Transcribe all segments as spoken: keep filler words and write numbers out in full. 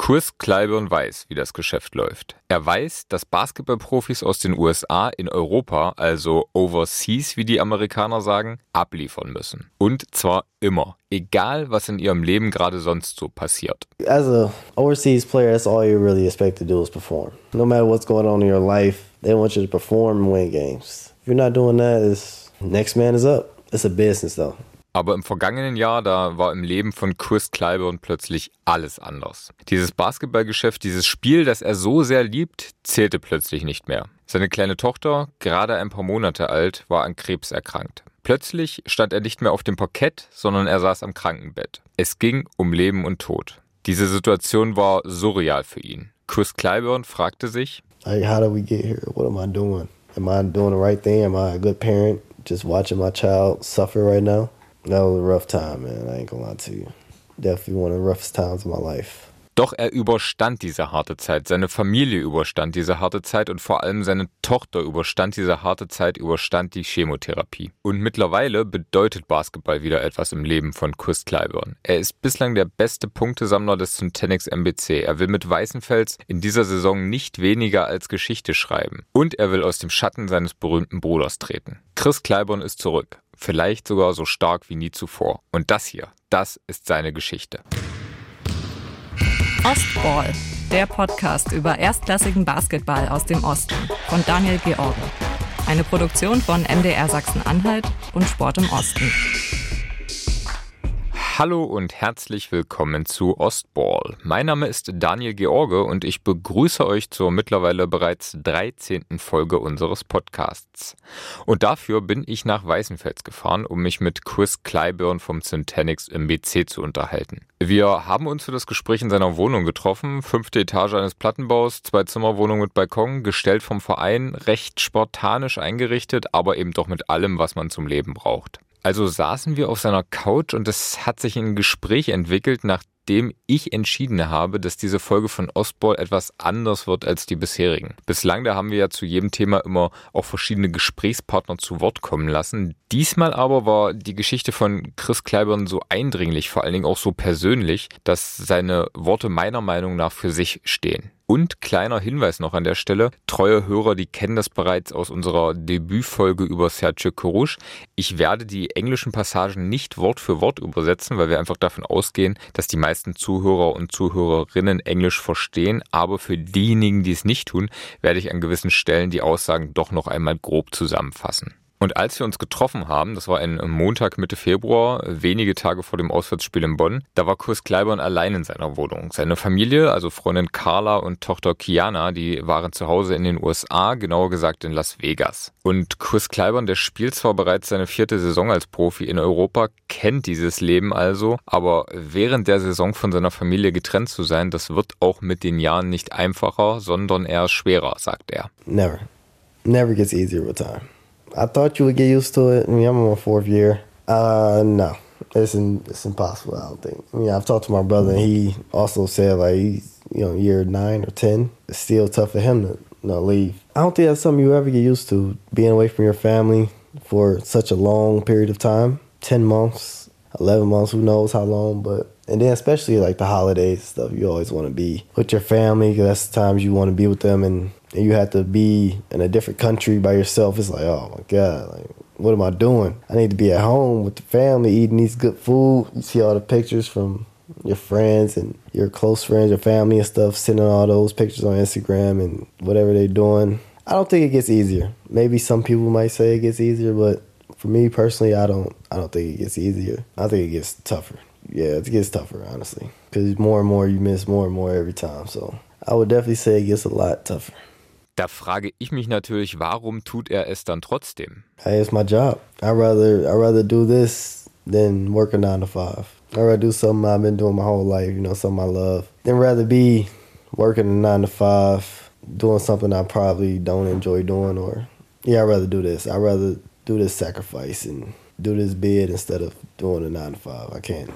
Chris Clyburn weiß, wie das Geschäft läuft. Er weiß, dass Basketballprofis aus den U S A in Europa, also overseas, wie die Amerikaner sagen, abliefern müssen. Und zwar immer, egal was in ihrem Leben gerade sonst so passiert. As a overseas player, that's all you really expect to do is perform. No matter what's going on in your life, they want you to perform and win games. If you're not doing that, it's next man is up. It's a business though. Aber im vergangenen Jahr, da war im Leben von Chris Clyburn plötzlich alles anders. Dieses Basketballgeschäft, dieses Spiel, das er so sehr liebt, zählte plötzlich nicht mehr. Seine kleine Tochter, gerade ein paar Monate alt, war an Krebs erkrankt. Plötzlich stand er nicht mehr auf dem Parkett, sondern er saß am Krankenbett. Es ging um Leben und Tod. Diese Situation war surreal für ihn. Chris Clyburn fragte sich, like, how did we get here? What am I doing? Am I doing the right thing? Am I a good parent? Just watching my child suffer right now? That was a rough time, man. I ain't gonna lie to you. Definitely one of the roughest times of my life. Doch er überstand diese harte Zeit, seine Familie überstand diese harte Zeit und vor allem seine Tochter überstand diese harte Zeit, überstand die Chemotherapie. Und mittlerweile bedeutet Basketball wieder etwas im Leben von Chris Clyburn. Er ist bislang der beste Punktesammler des Centennics M B C. Er will mit Weißenfels in dieser Saison nicht weniger als Geschichte schreiben. Und er will aus dem Schatten seines berühmten Bruders treten. Chris Clyburn ist zurück. Vielleicht sogar so stark wie nie zuvor. Und das hier, das ist seine Geschichte. Ostball, der Podcast über erstklassigen Basketball aus dem Osten von Daniel George. Eine Produktion von M D R Sachsen-Anhalt und Sport im Osten. Hallo und herzlich willkommen zu Ostball. Mein Name ist Daniel George und ich begrüße euch zur mittlerweile bereits dreizehnten Folge unseres Podcasts. Und dafür bin ich nach Weißenfels gefahren, um mich mit Chris Clyburn vom Centennics M B C zu unterhalten. Wir haben uns für das Gespräch in seiner Wohnung getroffen, fünfte Etage eines Plattenbaus, Zwei-Zimmer-Wohnung mit Balkon, gestellt vom Verein, recht spartanisch eingerichtet, aber eben doch mit allem, was man zum Leben braucht. Also saßen wir auf seiner Couch und es hat sich ein Gespräch entwickelt, nachdem ich entschieden habe, dass diese Folge von Ostball etwas anders wird als die bisherigen. Bislang, da haben wir ja zu jedem Thema immer auch verschiedene Gesprächspartner zu Wort kommen lassen. Diesmal aber war die Geschichte von Chris Clyburn so eindringlich, vor allen Dingen auch so persönlich, dass seine Worte meiner Meinung nach für sich stehen. Und kleiner Hinweis noch an der Stelle, treue Hörer, die kennen das bereits aus unserer Debütfolge über Sergio Coruche. Ich werde die englischen Passagen nicht Wort für Wort übersetzen, weil wir einfach davon ausgehen, dass die meisten Zuhörer und Zuhörerinnen Englisch verstehen. Aber für diejenigen, die es nicht tun, werde ich an gewissen Stellen die Aussagen doch noch einmal grob zusammenfassen. Und als wir uns getroffen haben, das war ein Montag Mitte Februar, wenige Tage vor dem Auswärtsspiel in Bonn, da war Chris Clyburn allein in seiner Wohnung. Seine Familie, also Freundin Carla und Tochter Kiana, die waren zu Hause in den U S A, genauer gesagt in Las Vegas. Und Chris Clyburn, der spielt zwar bereits seine vierte Saison als Profi in Europa, kennt dieses Leben also, aber während der Saison von seiner Familie getrennt zu sein, das wird auch mit den Jahren nicht einfacher, sondern eher schwerer, sagt er. Never. Never gets easier with time. I thought you would get used to it. I mean, I'm in my fourth year. Uh, no, it's in, it's impossible. I don't think. I mean, I've talked to my brother, and he also said like he's you know year nine or ten. It's still tough for him to you know, leave. I don't think that's something you ever get used to. Being away from your family for such a long period of time, ten months, eleven months, who knows how long, but. And then especially like the holidays and stuff, you always want to be with your family because that's the times you want to be with them, and, and you have to be in a different country by yourself. It's like, oh my God, like what am I doing? I need to be at home with the family, eating these good food. You see all the pictures from your friends and your close friends, your family and stuff, sending all those pictures on Instagram and whatever they're doing. I don't think it gets easier. Maybe some people might say it gets easier, but for me personally, I don't. I don't think it gets easier. I think it gets tougher. Yeah, it gets tougher, honestly. Because more and more you miss more and more every time. So I would definitely say it gets a lot tougher. Da frage ich mich natürlich, warum tut er es dann trotzdem? Hey, it's my job. I'd rather, I'd rather do this than work a nine to five. I'd rather do something I've been doing my whole life, you know, something I love. Than rather be working a nine to five, doing something I probably don't enjoy doing. Or, yeah, I'd rather do this. I'd rather do this sacrifice and do this bid instead of doing a nine to five. I can't.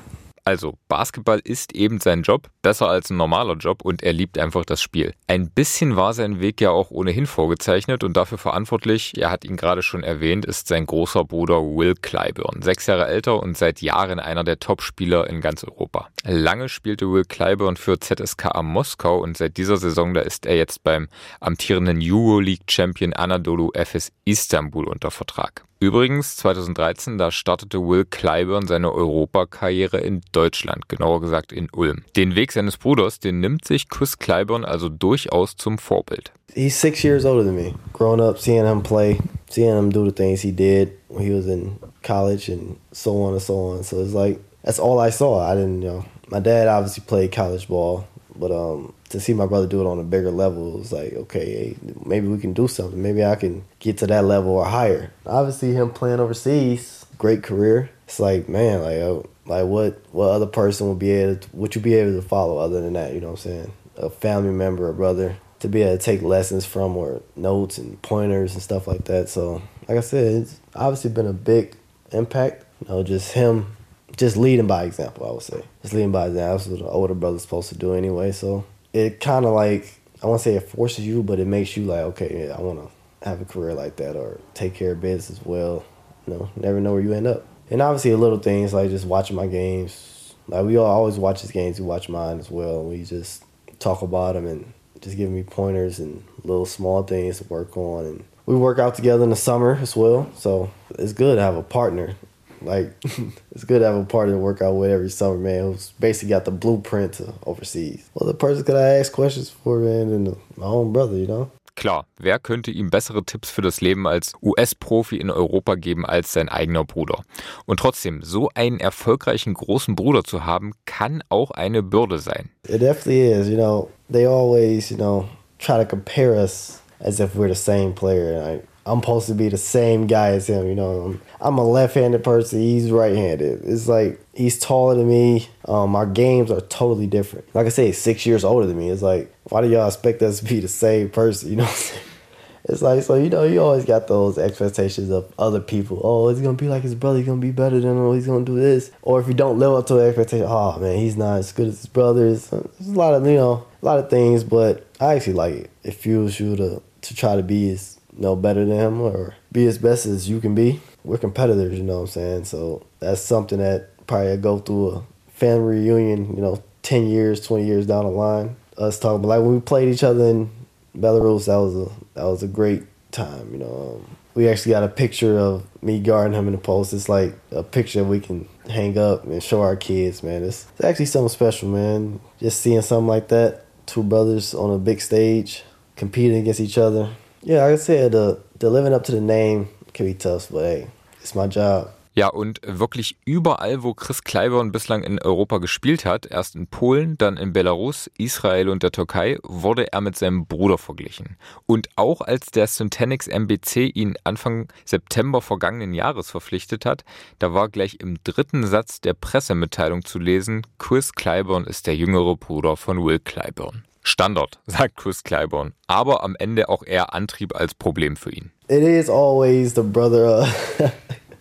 Also, Basketball ist eben sein Job, besser als ein normaler Job und er liebt einfach das Spiel. Ein bisschen war sein Weg ja auch ohnehin vorgezeichnet und dafür verantwortlich, er hat ihn gerade schon erwähnt, ist sein großer Bruder Will Clyburn. Sechs Jahre älter und seit Jahren einer der Top-Spieler in ganz Europa. Lange spielte Will Clyburn für Z S K A Moskau und seit dieser Saison, da ist er jetzt beim amtierenden Euroleague-Champion Anadolu Efes Istanbul unter Vertrag. Übrigens, zweitausenddreizehn, da startete Will Clyburn seine Europakarriere in Deutschland, genauer gesagt in Ulm. Den Weg seines Bruders, den nimmt sich Chris Clyburn also durchaus zum Vorbild. He's six years older than me. Growing up, seeing him play, seeing him do the things he did when he was in college and so on and so on. So it's like, that's all I saw. I didn't, you know, my dad obviously played college ball, but um, to see my brother do it on a bigger level, it was like, okay, hey, maybe we can do something. Maybe I can get to that level or higher. Obviously, him playing overseas, great career. It's like, man, like, uh, like what, what other person would be able to, would you be able to follow other than that? You know what I'm saying? A family member, a brother, to be able to take lessons from or notes and pointers and stuff like that. So, like I said, it's obviously been a big impact. You know, just him, just leading by example, I would say. Just leading by example. That's what the older brother's supposed to do anyway. So it kind of like, I won't say it forces you, but it makes you like, okay, yeah, I want to have a career like that or take care of business as well. You know, never know where you end up. And obviously the little things like just watching my games. Like we all always watch his games. We watch mine as well. We just talk about them and just give me pointers and little small things to work on. And we work out together in the summer as well. So it's good to have a partner. Like, it's good to have a partner to work out with every summer, man, who's basically got the blueprint to overseas. Well, the person could I ask questions for, man, than my own brother, you know? Klar, wer könnte ihm bessere Tipps für das Leben als U S-Profi in Europa geben als sein eigener Bruder? Und trotzdem, so einen erfolgreichen großen Bruder zu haben, kann auch eine Bürde sein. It definitely is, you know. They always, you know, try to compare us as if we're the same player. Like, I'm supposed to be the same guy as him, you know. I'm a left-handed person, he's right-handed. It's like, he's taller than me. Um, our games are totally different. Like I say, he's six years older than me. It's like, why do y'all expect us to be the same person, you know what I'm saying? It's like, so, you know, you always got those expectations of other people. Oh, he's going to be like his brother. He's going to be better than him. He's going to do this. Or if you don't live up to the expectation, oh, man, he's not as good as his brothers. There's a lot of, you know, a lot of things, but I actually like it. It fuels you to, to try to be as, you know, better than him or be as best as you can be. We're competitors, you know what I'm saying? So that's something that probably I go through a family reunion, you know, ten years, twenty years down the line. Us talking, but like when we played each other in Belarus, that was a that was a great time, you know. Um, we actually got a picture of me guarding him in the post. It's like a picture we can hang up and show our kids, man. It's, it's actually something special, man. Just seeing something like that, two brothers on a big stage, competing against each other. Yeah, like I said, the, the living up to the name can be tough, but hey, it's my job. Ja, und wirklich überall, wo Chris Clyburn bislang in Europa gespielt hat, erst in Polen, dann in Belarus, Israel und der Türkei, wurde er mit seinem Bruder verglichen. Und auch als der Syntanix M B C ihn Anfang September vergangenen Jahres verpflichtet hat, da war gleich im dritten Satz der Pressemitteilung zu lesen, Chris Clyburn ist der jüngere Bruder von Will Clyburn. Standard, sagt Chris Clyburn, aber am Ende auch eher Antrieb als Problem für ihn. It is always the brother of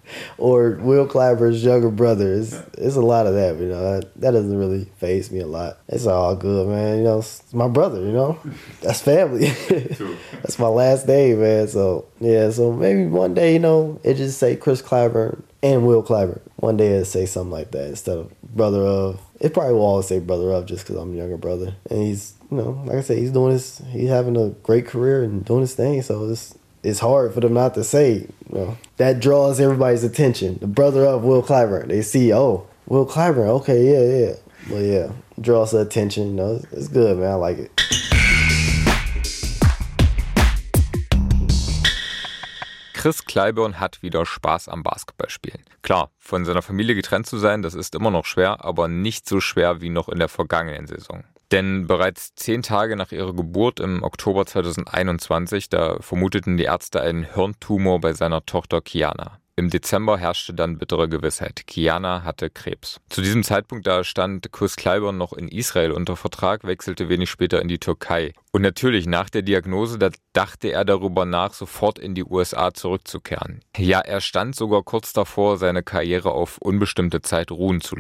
or Will Clyburn's younger brother. It's, it's a lot of that, you know. That, that doesn't really faze me a lot. It's all good, man. You know, it's my brother, you know. That's family. That's my last name, man. So, yeah, so maybe one day, you know, it just say Chris Clyburn and Will Clyburn. One day it'll say something like that instead of brother of. It probably will always say brother of just because I'm a younger brother. And he's, you know, like I said, he's doing his, he's having a great career and doing his thing. So it's, it's hard for them not to say, you know, that draws everybody's attention. The brother of Will Clyburn. They see, oh, Will Clyburn, okay, yeah, yeah. Well, yeah, draws the attention, you know. It's, it's good, man. I like it. Chris Clyburn hat wieder Spaß am Basketballspielen. Klar, von seiner Familie getrennt zu sein, das ist immer noch schwer, aber nicht so schwer wie noch in der vergangenen Saison. Denn bereits zehn Tage nach ihrer Geburt im Oktober zweitausendeinundzwanzig, da vermuteten die Ärzte einen Hirntumor bei seiner Tochter Kiana. Im Dezember herrschte dann bittere Gewissheit. Kiana hatte Krebs. Zu diesem Zeitpunkt da stand Chris Clyburn noch in Israel unter Vertrag, wechselte wenig später in die Türkei. Und natürlich nach der Diagnose, da dachte er darüber nach, sofort in die U S A zurückzukehren. Ja, er stand sogar kurz davor, seine Karriere auf unbestimmte Zeit ruhen zu lassen.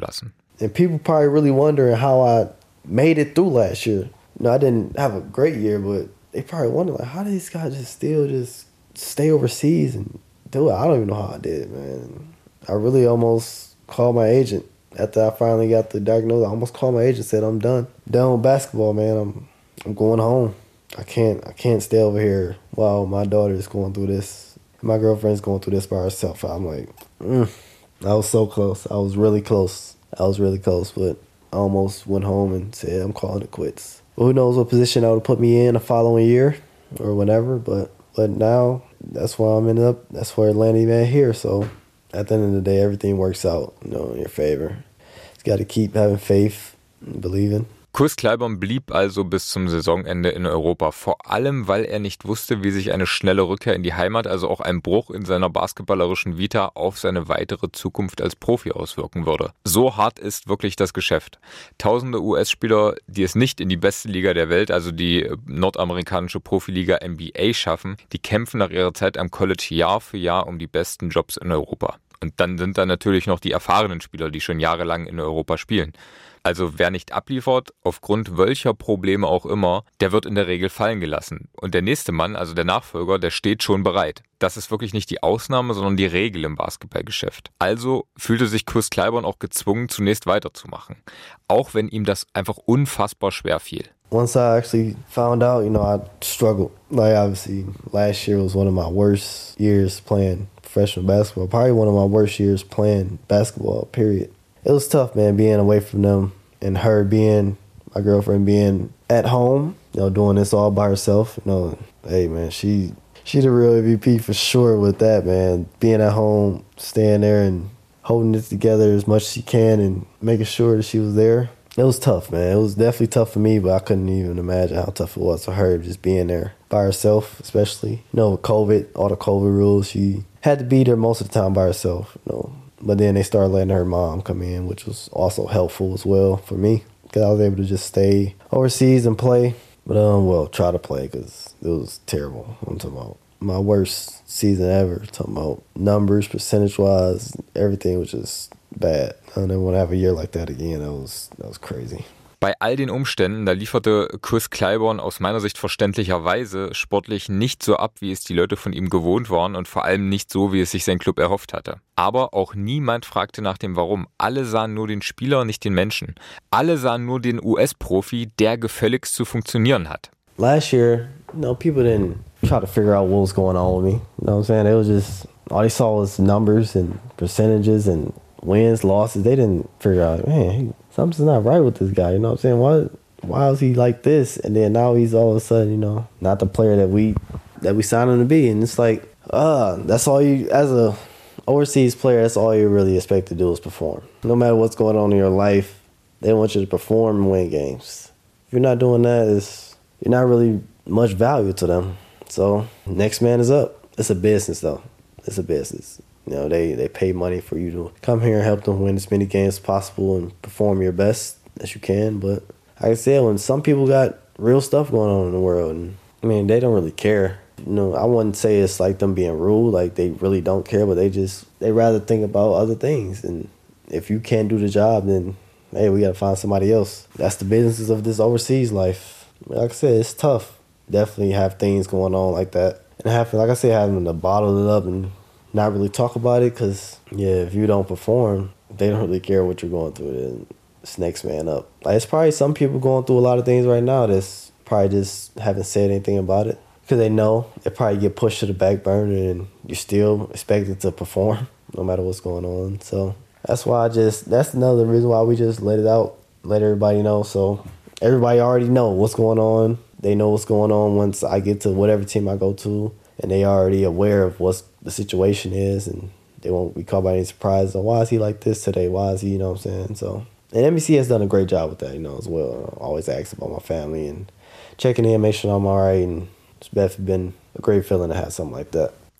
And people probably really wondering how I made it through last year. You know, I didn't have a great year, but they probably wonder, like, how did these guys just still just stay overseas and do it? I don't even know how I did it, man. I really almost called my agent after I finally got the diagnosis. I almost called my agent and said, I'm done. Done with basketball, man. I'm I'm going home. I can't I can't stay over here while my daughter is going through this. My girlfriend's going through this by herself. I'm like, mm. I was so close. I was really close. I was really close, but I almost went home and said, I'm calling it quits. But who knows what position that would put me in the following year or whenever. But but now, that's where I'm ended up. That's where Atlanta even here. So at the end of the day, everything works out, you know, in your favor. Just got to keep having faith and believing. Chris Clyburn blieb also bis zum Saisonende in Europa, vor allem, weil er nicht wusste, wie sich eine schnelle Rückkehr in die Heimat, also auch ein Bruch in seiner basketballerischen Vita, auf seine weitere Zukunft als Profi auswirken würde. So hart ist wirklich das Geschäft. Tausende U S-Spieler, die es nicht in die beste Liga der Welt, also die nordamerikanische Profiliga N B A schaffen, die kämpfen nach ihrer Zeit am College Jahr für Jahr um die besten Jobs in Europa. Und dann sind da natürlich noch die erfahrenen Spieler, die schon jahrelang in Europa spielen. Also wer nicht abliefert, aufgrund welcher Probleme auch immer, der wird in der Regel fallen gelassen. Und der nächste Mann, also der Nachfolger, der steht schon bereit. Das ist wirklich nicht die Ausnahme, sondern die Regel im Basketballgeschäft. Also fühlte sich Chris Clyburn auch gezwungen, zunächst weiterzumachen. Auch wenn ihm das einfach unfassbar schwer fiel. Once I actually found out, you know, I struggled. Like, obviously, last year was one of my worst years playing professional basketball. Probably one of my worst years playing basketball, period. It was tough, man, being away from them and her being, my girlfriend being at home, you know, doing this all by herself. You know, hey, man, she she the real M V P for sure with that, man. Being at home, staying there and holding it together as much as she can and making sure that she was there. It was tough, man. It was definitely tough for me, but I couldn't even imagine how tough it was for her just being there by herself, especially. You know, with COVID, all the COVID rules, she had to be there most of the time by herself, you know. But then they started letting her mom come in, which was also helpful as well for me because I was able to just stay overseas and play. But, um, well, try to play because it was terrible. I'm talking about my worst season ever. I'm talking about numbers, percentage-wise, everything was just bad. I don't want to have a year like that again. That was, that was crazy. Bei all den Umständen, da lieferte Chris Clyburn aus meiner Sicht verständlicherweise sportlich nicht so ab, wie es die Leute von ihm gewohnt waren und vor allem nicht so, wie es sich sein Club erhofft hatte. Aber auch niemand fragte nach dem Warum. Alle sahen nur den Spieler, nicht den Menschen. Alle sahen nur den U S-Profi, der gefälligst zu funktionieren hat. Last year, you know, people didn't try to figure out what was going on with me. You know what I'm saying? It was just, all they saw was numbers and percentages and wins, losses. They didn't figure out, man, something's not right with this guy. You know what I'm saying? Why, why is he like this? And then now he's all of a sudden, you know, not the player that we that we signed him to be. And it's like, uh, that's all you, as a overseas player, that's all you really expect to do is perform. No matter what's going on in your life, they want you to perform and win games. If you're not doing that, it's, you're not really much value to them. So next man is up. It's a business, though. It's a business. You know, they, they pay money for you to come here and help them win as many games as possible and perform your best as you can. But like I said, when some people got real stuff going on in the world, and I mean, they don't really care. You know, I wouldn't say it's like them being rude, like they really don't care, but they just, they rather think about other things. And if you can't do the job, then, hey, we got to find somebody else. That's the businesses of this overseas life. Like I said, it's tough. Definitely have things going on like that. And have, like I said, having to bottle it up and not really talk about it because, yeah, if you don't perform, they don't really care what you're going through. Then it's next man up. Like, it's probably some people going through a lot of things right now that's probably just haven't said anything about it because they know it probably get pushed to the back burner and you're still expected to perform no matter what's going on. So that's why I just, that's another reason why we just let it out, let everybody know. So everybody already know what's going on. They know what's going on once I get to whatever team I go to. And they already aware of what the situation is, and they won't be caught by any surprise. Oh, why is he like this today? Why is he, you know what I'm saying? So, and N B C has done a great job with that, you know, as well. I always ask about my family and checking in, make sure I'm all right. And it's definitely been a great feeling to have something like that.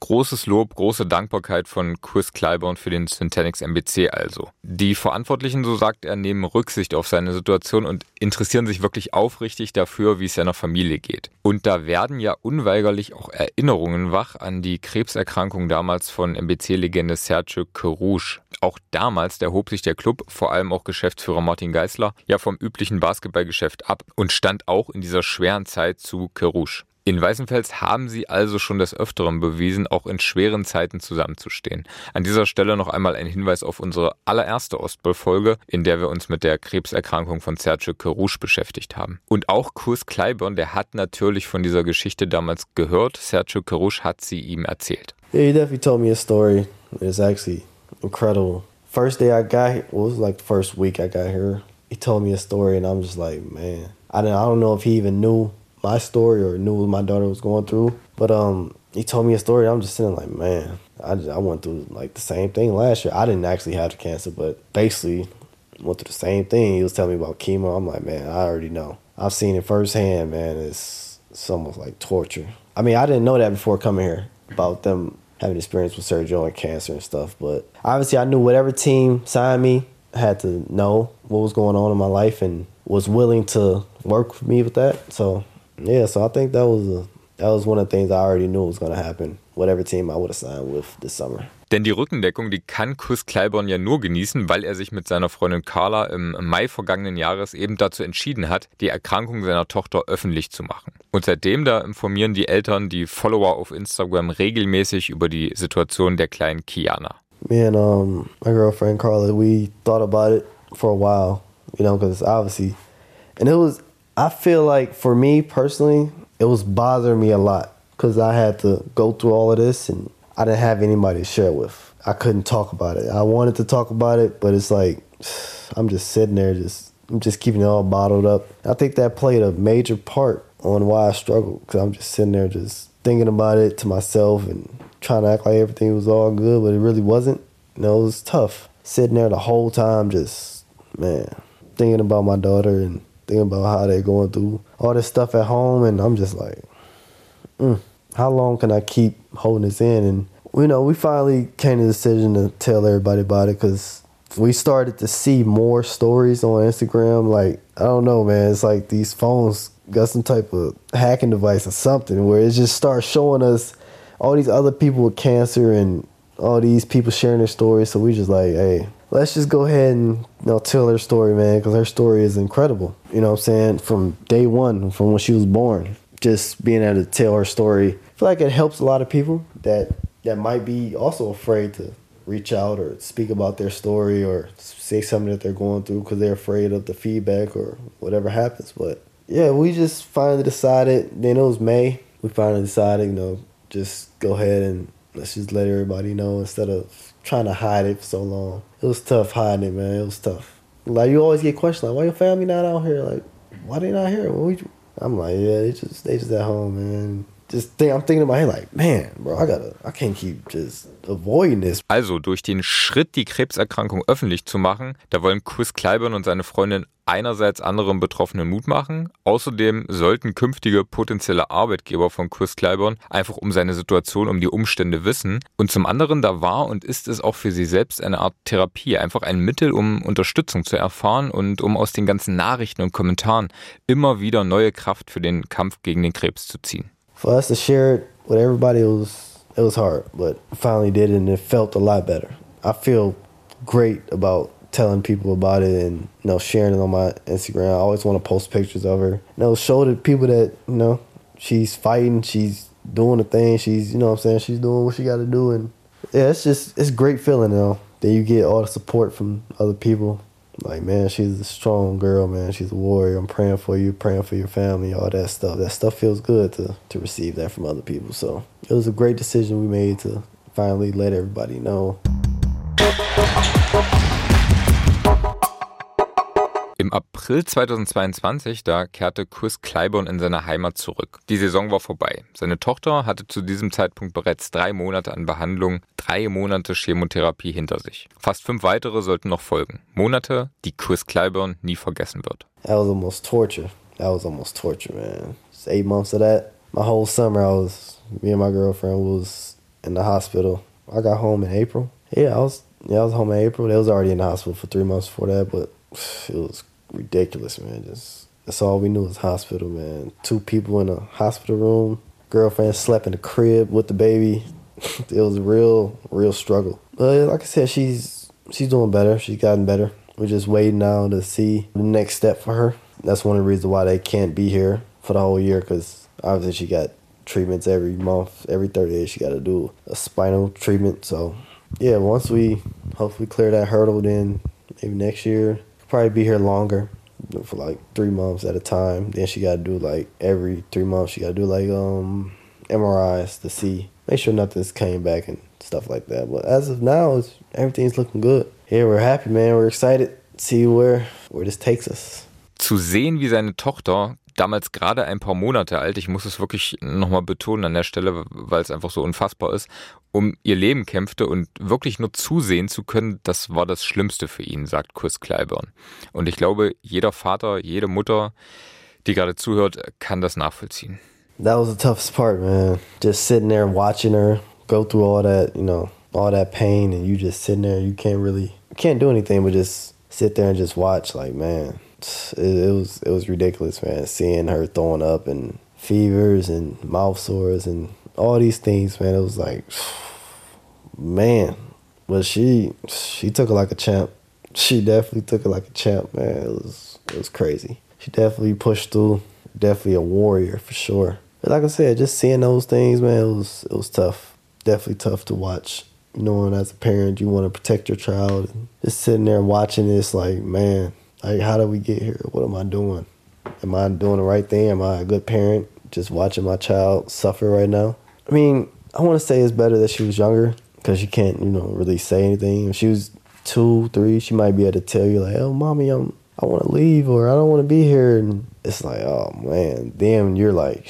Großes Lob, große Dankbarkeit von Chris Clyburn für den Syntanix M B C also. Die Verantwortlichen, so sagt er, nehmen Rücksicht auf seine Situation und interessieren sich wirklich aufrichtig dafür, wie es seiner Familie geht. Und da werden ja unweigerlich auch Erinnerungen wach an die Krebserkrankung damals von M B C-Legende Sergio Kerouche. Auch damals erhob sich der Club, vor allem auch Geschäftsführer Martin Geisler, ja vom üblichen Basketballgeschäft ab und stand auch in dieser schweren Zeit zu Kerouche. In Weißenfels haben sie also schon des Öfteren bewiesen, auch in schweren Zeiten zusammenzustehen. An dieser Stelle noch einmal ein Hinweis auf unsere allererste Ostball-Folge, in der wir uns mit der Krebserkrankung von Sergio Kerouche beschäftigt haben. Und auch Chris Clyburn, der hat natürlich von dieser Geschichte damals gehört. Sergio Kerouche hat sie ihm erzählt. Yeah, he definitely told me a story. It's actually incredible. First day I got here, well, it was like the first week I got here. He told me a story and I'm just like, man, I don't, I don't know if he even knew my story or knew what my daughter was going through. But um, he told me a story. I'm just sitting like, man, I, just, I went through like the same thing last year. I didn't actually have the cancer, but basically went through the same thing. He was telling me about chemo. I'm like, man, I already know. I've seen it firsthand, man. It's, it's almost like torture. I mean, I didn't know that before coming here about them having experience with Sergio and cancer and stuff. But obviously I knew whatever team signed me, I had to know what was going on in my life and was willing to work with me with that. So yeah, so I think that was a, that was one of the things I already knew was going to happen, whatever team I would have signed with this summer. Denn die Rückendeckung, die kann Chris Clyburn ja nur genießen, weil er sich mit seiner Freundin Carla im Mai vergangenen Jahres eben dazu entschieden hat, die Erkrankung seiner Tochter öffentlich zu machen. Und seitdem da informieren die Eltern die Follower auf Instagram regelmäßig über die Situation der kleinen Kiana. Me and um, my girlfriend Carla, we thought about it for a while, you know, because obviously, and it was, I feel like for me personally, it was bothering me a lot because I had to go through all of this and I didn't have anybody to share with. I couldn't talk about it. I wanted to talk about it, but it's like, I'm just sitting there, just I'm just keeping it all bottled up. I think that played a major part on why I struggled because I'm just sitting there just thinking about it to myself and trying to act like everything was all good, but it really wasn't. You know, it was tough. Sitting there the whole time just, man, thinking about my daughter and thinking about how they're going through all this stuff at home, and I'm just like, mm, how long can I keep holding this in? And, you know, we finally came to the decision to tell everybody about it because we started to see more stories on Instagram. Like, I don't know, man, it's like these phones got some type of hacking device or something where it just starts showing us all these other people with cancer and all these people sharing their stories. So we just like, hey, let's just go ahead and, you know, tell her story, man, because her story is incredible. You know what I'm saying? From day one, from when she was born, just being able to tell her story. I feel like it helps a lot of people that, that might be also afraid to reach out or speak about their story or say something that they're going through because they're afraid of the feedback or whatever happens. But yeah, we just finally decided, then it was May, we finally decided, you know, just go ahead and let's just let everybody know instead of trying to hide it for so long. It was tough hiding it, man. It was tough. Like, you always get questions like, why your family not out here? Like, why they not here? What we, I'm like, yeah, they just they just at home, man. Just think, I'm thinking in my head like, man, bro, I gotta, I can't keep just avoiding this. Also durch den Schritt, die Krebserkrankung öffentlich zu machen, da wollen Chris Clyburn und seine Freundin einerseits anderen Betroffenen Mut machen. Außerdem sollten künftige potenzielle Arbeitgeber von Chris Clyburn einfach um seine Situation, um die Umstände wissen. Und zum anderen, da war und ist es auch für sie selbst eine Art Therapie, einfach ein Mittel, um Unterstützung zu erfahren und um aus den ganzen Nachrichten und Kommentaren immer wieder neue Kraft für den Kampf gegen den Krebs zu ziehen. For us to share it with everybody, it was it was hard, but finally did it and it felt a lot better. I feel great about telling people about it and, you know, sharing it on my Instagram. I always want to post pictures of her. You know, show the people that, you know, she's fighting, she's doing the thing, she's, you know what I'm saying, she's doing what she got to do. And yeah, it's just, it's a great feeling, you know, that you get all the support from other people. Like, man, she's a strong girl, man. She's a warrior. I'm praying for you, praying for your family, all that stuff. That stuff feels good to, to receive that from other people. So it was a great decision we made to finally let everybody know. Im April zweitausendzweiundzwanzig, da kehrte Chris Clyburn in seine Heimat zurück. Die Saison war vorbei. Seine Tochter hatte zu diesem Zeitpunkt bereits drei Monate an Behandlung, drei Monate Chemotherapie hinter sich. Fast fünf weitere sollten noch folgen. Monate, die Chris Clyburn nie vergessen wird. That was almost torture. That was almost torture, man. Just eight months of that. My whole summer, I was, me and my girlfriend was in the hospital. I got home in April. Yeah, I was yeah, I was home in April. They was already in the hospital for three months before that, but it was ridiculous, man. Just that's all we knew was hospital, man. Two people in a hospital room. Girlfriend slept in the crib with the baby. It was a real, real struggle. But like I said, she's she's doing better. She's gotten better. We're just waiting now to see the next step for her. That's one of the reasons why they can't be here for the whole year, because obviously she got treatments every month. Every thirty days she got to do a spinal treatment. So, yeah, once we hopefully clear that hurdle, then maybe next year, probably be here longer for like three months at a time. Then she got to do like every three months, she got to do like um M R Is to see, make sure nothing's came back and stuff like that. But as of now, it's, everything's looking good. Yeah, we're happy, man. We're excited to see where, where this takes us. Zu sehen, wie seine Tochter, damals gerade ein paar Monate alt, ich muss es wirklich nochmal betonen an der Stelle, weil es einfach so unfassbar ist, um ihr Leben kämpfte und wirklich nur zusehen zu können, das war das Schlimmste für ihn, sagt Chris Clyburn. Und ich glaube, jeder Vater, jede Mutter, die gerade zuhört, kann das nachvollziehen. That was the toughest part, man. Just sitting there watching her go through all that, you know, all that pain, and you just sitting there, you can't really, you can't do anything but just sit there and just watch. Like, man, it, it was it was ridiculous, man. Seeing her throwing up and fevers and mouth sores and all these things, man. It was like, man. But she she took it like a champ. She definitely took it like a champ, man. It was it was crazy. She definitely pushed through. Definitely a warrior for sure. But like I said, just seeing those things, man, it was it was tough. Definitely tough to watch. You know, and as a parent, you want to protect your child. And just sitting there watching this, like, man, like, how did we get here? What am I doing? Am I doing the right thing? Am I a good parent? Just watching my child suffer right now. I mean, I want to say it's better that she was younger, because you can't, you know, really say anything. If she was two, three, she might be able to tell you, like, oh, mommy, I'm, I want to leave, or I don't want to be here. And it's like, oh, man. Then you're like,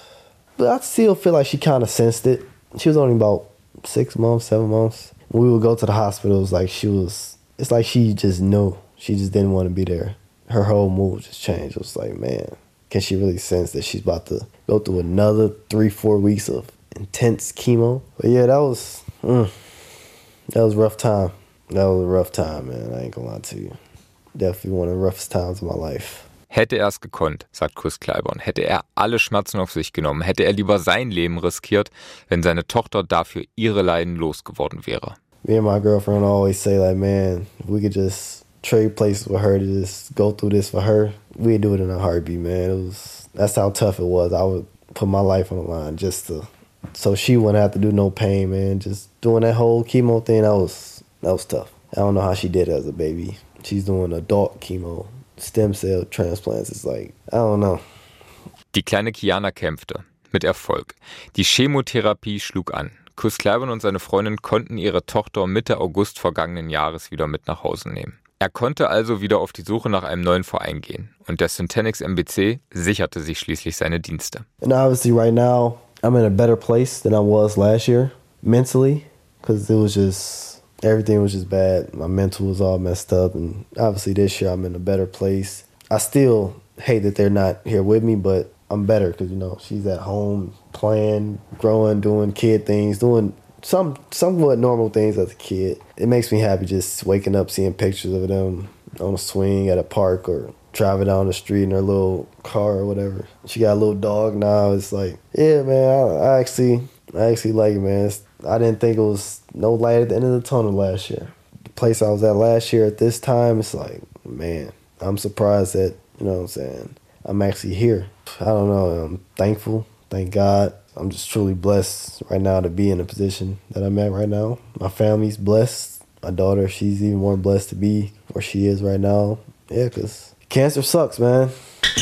but I still feel like she kind of sensed it. She was only about six months, seven months. When we would go to the hospital, it was like she was, it's like she just knew. She just didn't want to be there. Her whole mood just changed. It was like, man, can she really sense that she's about to go through another three, four weeks of intense chemo? But yeah, that was, mm, that was a rough time. That was a rough time, man. I ain't gonna lie to you. Definitely one of the roughest times of my life. Hätte er es gekonnt, sagt Chris Clyburn, hätte er alle Schmerzen auf sich genommen, hätte er lieber sein Leben riskiert, wenn seine Tochter dafür ihre Leiden losgeworden wäre. Me and my girlfriend always say, like, man, if we could just trade places with her to just go through this for her, we'd do it in a heartbeat, man. It was, that's how tough it was. I would put my life on the line just to, so she wouldn't have to do no pain, man. Just doing that whole chemo thing, that was, that was tough. I don't know how she did it as a baby. She's doing adult chemo. Stem cell transplants, it's like, I don't know. Die kleine Kiana kämpfte. Mit Erfolg. Die Chemotherapie schlug an. Chris Clyburn und seine Freundin konnten ihre Tochter Mitte August vergangenen Jahres wieder mit nach Hause nehmen. Er konnte also wieder auf die Suche nach einem neuen Verein gehen. Und der Syntenix M B C sicherte sich schließlich seine Dienste. And obviously right now, I'm in a better place than I was last year, mentally, because it was just... everything was just bad. My mental was all messed up. And obviously this year I'm in a better place. I still hate that they're not here with me, but I'm better because, you know, she's at home playing, growing, doing kid things, doing some somewhat normal things as a kid. It makes me happy just waking up, seeing pictures of them on a swing at a park or driving down the street in her little car or whatever. She got a little dog now. It's like, yeah, man, I, I actually... I actually like it, man. It's, I didn't think it was no light at the end of the tunnel last year. The place I was at last year at this time, it's like, man, I'm surprised that, you know what I'm saying, I'm actually here. I don't know. I'm thankful. Thank God. I'm just truly blessed right now to be in the position that I'm at right now. My family's blessed. My daughter, she's even more blessed to be where she is right now. Yeah, because cancer sucks, man.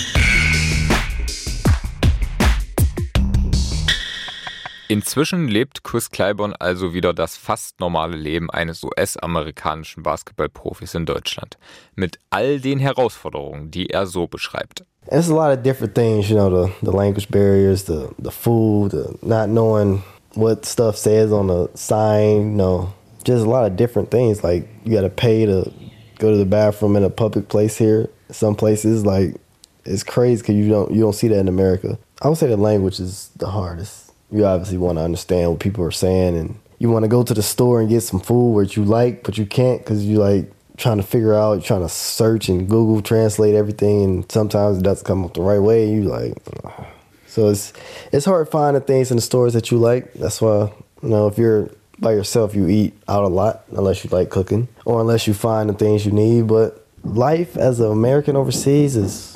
Inzwischen lebt Chris Clyburn also wieder das fast normale Leben eines U S-amerikanischen Basketballprofis in Deutschland. Mit all den Herausforderungen, die er so beschreibt. It's a lot of different things, you know, the, the language barriers, the, the food, the not knowing what stuff says on the sign, you know, just a lot of different things. Like, you got to pay to go to the bathroom in a public place here. Some places, like, it's crazy because you don't, you don't see that in America. I would say the language is the hardest. you obviously want to understand what people are saying, and you want to go to the store and get some food which you like, but you can't because you like trying to figure out, you're trying to search and Google translate everything, and sometimes it doesn't come up the right way. You like, ugh. So it's it's hard finding things in the stores that you like. That's why, you know, if you're by yourself, you eat out a lot unless you like cooking or unless you find the things you need. But life as an American overseas is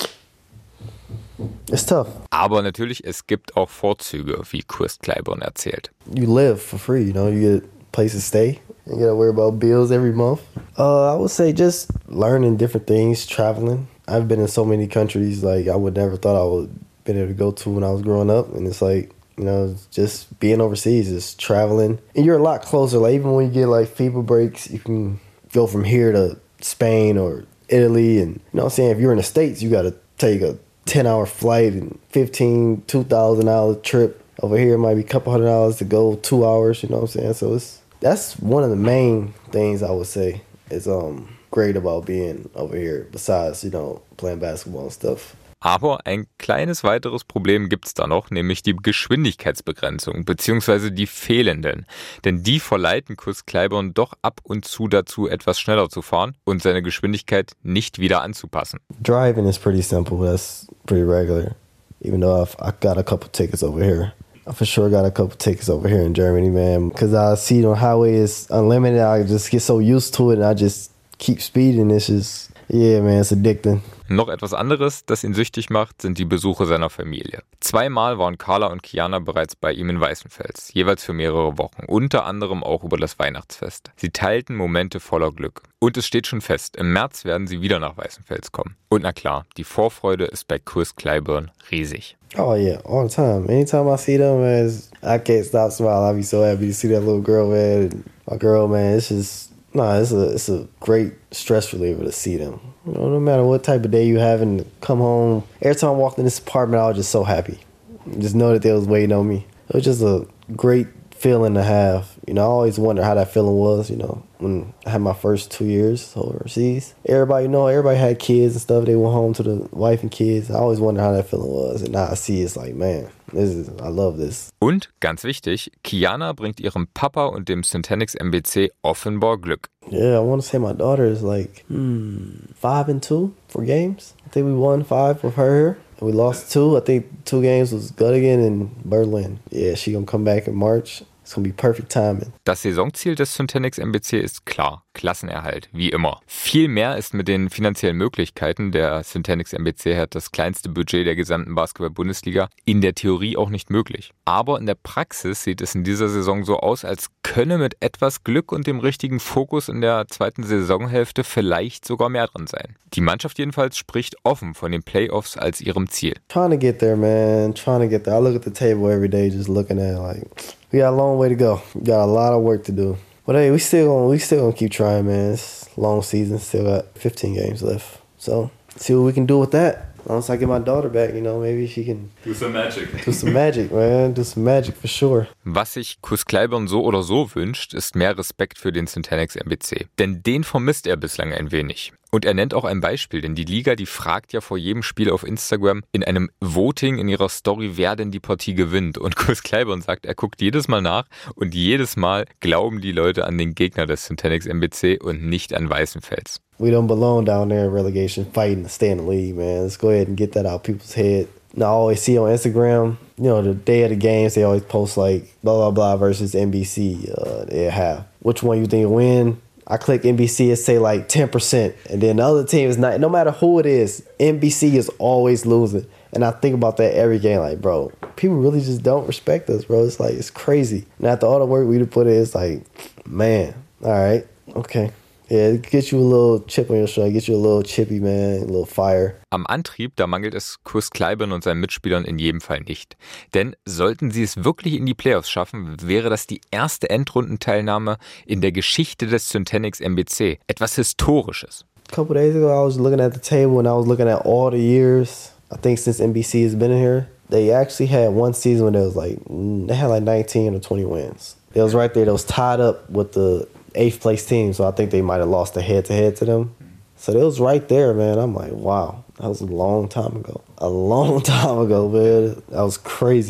it's tough. Aber natürlich, es gibt auch Vorzüge, wie Chris Clyburn erzählt. You live for free, you know, you get a place to stay. You gotta worry about bills every month. Uh, I would say just learning different things, traveling. I've been in so many countries like I would never thought I would been able to go to when I was growing up, and it's like, you know, just being overseas, just traveling. And you're a lot closer. Like, even when you get, like, FIBA breaks, you can go from here to Spain or Italy. And, you know what I'm saying? If you're in the States, you got to take a ten-hour flight and fifteen, two thousand dollars trip. Over here, it might be a couple hundred dollars to go two hours, you know what I'm saying? So it's that's one of the main things I would say is um great about being over here, besides, you know, playing basketball and stuff. Aber ein kleines weiteres Problem gibt's da noch, nämlich die Geschwindigkeitsbegrenzung bzw. die fehlenden. Denn die verleiten Chris Clyburn doch ab und zu dazu, etwas schneller zu fahren und seine Geschwindigkeit nicht wieder anzupassen. Driving is pretty simple. That's pretty regular. Even though I've I got a couple tickets over here. I for sure got a couple tickets over here in Germany, man. Because I see the highway is unlimited. I just get so used to it and I just keep speeding. It's just, yeah, man, it's addicting. Noch etwas anderes, das ihn süchtig macht, sind die Besuche seiner Familie. Zweimal waren Carla und Kiana bereits bei ihm in Weißenfels, jeweils für mehrere Wochen, unter anderem auch über das Weihnachtsfest. Sie teilten Momente voller Glück. Und es steht schon fest, im März werden sie wieder nach Weißenfels kommen. Und na klar, die Vorfreude ist bei Chris Clyburn riesig. Oh yeah, all the time. Anytime I see them, man, I can't stop smiling. I'll be so happy to see that little girl, man. My girl, man, it's just, nah, it's a, it's a great stress reliever to see them. You know, no matter what type of day you have and come home, every time I walked in this apartment, I was just so happy. Just know that they was waiting on me. It was just a great feeling to have. You know, I always wonder how that feeling was, you know, when I had my first two years overseas. Everybody, you know, everybody had kids and stuff. They went home to the wife and kids. I always wonder how that feeling was. And now I see it's like, man, this is, I love this. Und, ganz wichtig, Kiana bringt ihrem Papa und dem Syntanix M B C offenbar Glück. Yeah, I want to say my daughter is like, hmm, five and two for games. I think we won five with her. And we lost two. I think two games was Göttingen and Berlin. Yeah, she gonna come back in March. It's gonna be perfect timing. Das Saisonziel des Syntanix M B C ist klar, Klassenerhalt, wie immer. Viel mehr ist mit den finanziellen Möglichkeiten, der Syntanix M B C hat das kleinste Budget der gesamten Basketball-Bundesliga, in der Theorie auch nicht möglich. Aber in der Praxis sieht es in dieser Saison so aus, als könne mit etwas Glück und dem richtigen Fokus in der zweiten Saisonhälfte vielleicht sogar mehr drin sein. Die Mannschaft jedenfalls spricht offen von den Playoffs als ihrem Ziel. Trying to get there, man. Trying to get there. I look at the table every day just looking at it like, we got a long way to go. We got a lot of work to do. But hey, we still gonna, we still gonna keep trying, man. It's a long season. Still got fifteen games left. So, see what we can do with that. Once I get my daughter back, you know, maybe she can do some magic. Do some magic, man. Do some magic for sure. Was sich Chris Clyburn so oder so wünscht, ist mehr Respekt für den Syntanix M B C. Denn den vermisst er bislang ein wenig. Und er nennt auch ein Beispiel, denn die Liga, die fragt ja vor jedem Spiel auf Instagram in einem Voting in ihrer Story, wer denn die Partie gewinnt. Und Chris Clyburn sagt, er guckt jedes Mal nach und jedes Mal glauben die Leute an den Gegner des Syntanix M B C und nicht an Weißenfels. We don't belong down there in relegation fighting to stay in the league, man. Let's go ahead and get that out of people's head. And I always see on Instagram, you know, the day of the games, they always post like blah, blah, blah versus N B C. Uh, they have. Which one you think will win? I click N B C and say like ten percent. And then the other team is not, no matter who it is, N B C is always losing. And I think about that every game, like, bro, people really just don't respect us, bro. It's like, it's crazy. And after all the work we put in, it's like, man, all right, okay. Yeah, get you a little chip on your shoulder, get you a little chippy, man, a little fire. Am Antrieb, da mangelt es Chris Clyburn und seinen Mitspielern in jedem Fall nicht. Denn sollten sie es wirklich in die Playoffs schaffen, wäre das die erste Endrundenteilnahme in der Geschichte des Syntanix M B C. Etwas Historisches. A couple days ago, I was looking at the table and I was looking at all the years, I think since N B C has been in here, they actually had one season when it was like, they had like nineteen or twenty wins. It was right there, that was tied up with the eighth place team, so I think they might have lost a head-to-head to them. So it was right there, man. I'm like, wow, that was a long time ago. A long time ago, man. That was crazy.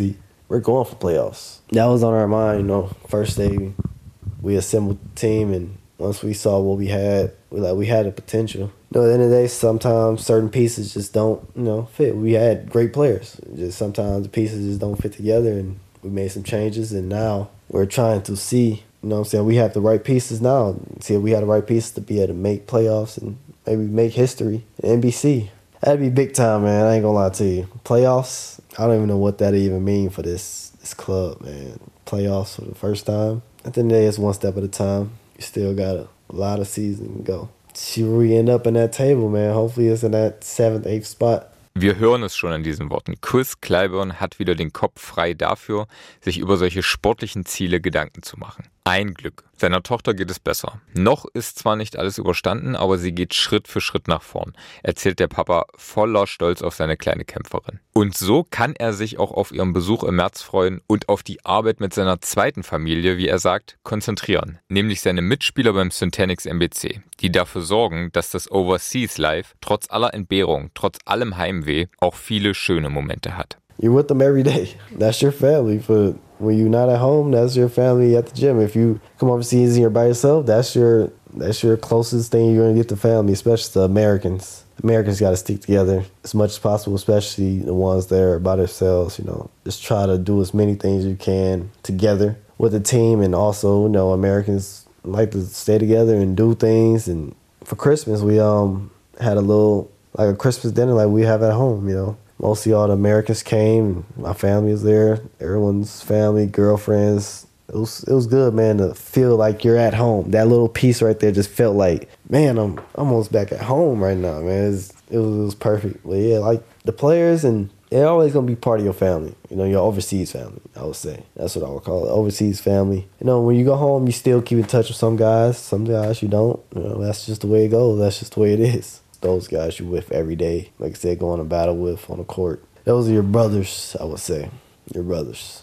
we're going for playoffs. That was on our mind, you know. First day, we assembled the team, and once we saw what we had, we like we had the potential. You know, at the end of the day, sometimes certain pieces just don't, you know, fit. We had great players. Just sometimes the pieces just don't fit together, and we made some changes, and now we're trying to see, you know what I'm saying, we have the right pieces now. See if we had the right pieces to be able to make playoffs and maybe make history in N B C. That'd be big time, man. I ain't gonna lie to you. Playoffs, I don't even know what that even mean for this this club, man. Playoffs for the first time. At the end of the day, it's one step at a time. You still got a, a lot of season to go. See where we end up in that table, man. Hopefully it's in that seventh, eighth spot. Wir hören es schon an diesen Worten. Chris Clyburn hat wieder den Kopf frei dafür, sich über solche sportlichen Ziele Gedanken zu machen. Ein Glück. Seiner Tochter geht es besser. Noch ist zwar nicht alles überstanden, aber sie geht Schritt für Schritt nach vorn, erzählt der Papa voller Stolz auf seine kleine Kämpferin. Und so kann er sich auch auf ihren Besuch im März freuen und auf die Arbeit mit seiner zweiten Familie, wie er sagt, konzentrieren. Nämlich seine Mitspieler beim Syntanix M B C, die dafür sorgen, dass das Overseas Life trotz aller Entbehrung, trotz allem Heimweh auch viele schöne Momente hat. You're with them every day. That's your family. For when you're not at home, that's your family at the gym. If you come overseas and you're by yourself, that's your that's your closest thing you're gonna get to family, especially the Americans. Americans got to stick together as much as possible, especially the ones that are by themselves. You know, just try to do as many things you can together with the team, and also, you know, Americans like to stay together and do things. And for Christmas, we um had a little like a Christmas dinner like we have at home. You know. Mostly all the Americans came. My family was there. Everyone's family, girlfriends. It was it was good, man, to feel like you're at home. That little piece right there just felt like, man, I'm almost back at home right now, man. It was, it was, it was perfect. But yeah, like the players, and they're always going to be part of your family. You know, your overseas family, I would say. That's what I would call it, overseas family. You know, when you go home, you still keep in touch with some guys. Some guys you don't. You know, that's just the way it goes. That's just the way it is. Those guys you're with every day, like I said, going to battle with on the court. Those are your brothers, I would say. Your brothers.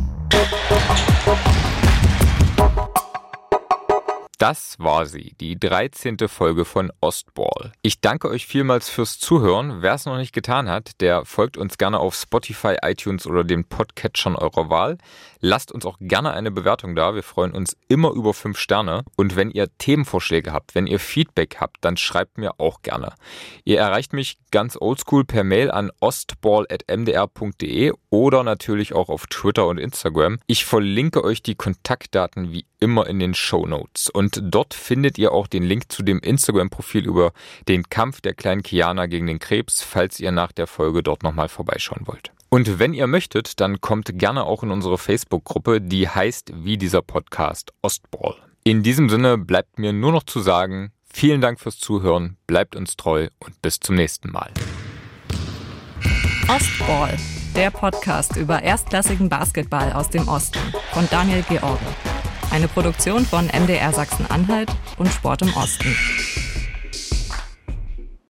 Das war sie, die dreizehnte Folge von Ostball. Ich danke euch vielmals fürs Zuhören. Wer es noch nicht getan hat, der folgt uns gerne auf Spotify, iTunes oder den Podcatchern eurer Wahl. Lasst uns auch gerne eine Bewertung da. Wir freuen uns immer über fünf Sterne. Und wenn ihr Themenvorschläge habt, wenn ihr Feedback habt, dann schreibt mir auch gerne. Ihr erreicht mich ganz oldschool per Mail an ostball at m d r punkt d e oder natürlich auch auf Twitter und Instagram. Ich verlinke euch die Kontaktdaten wie immer in den Shownotes. Und dort findet ihr auch den Link zu dem Instagram-Profil über den Kampf der kleinen Kiana gegen den Krebs, falls ihr nach der Folge dort nochmal vorbeischauen wollt. Und wenn ihr möchtet, dann kommt gerne auch in unsere Facebook-Gruppe, die heißt wie dieser Podcast Ostball. In diesem Sinne bleibt mir nur noch zu sagen, vielen Dank fürs Zuhören, bleibt uns treu und bis zum nächsten Mal. Ostball, der Podcast über erstklassigen Basketball aus dem Osten von Daniel George. Eine Produktion von M D R Sachsen-Anhalt und Sport im Osten.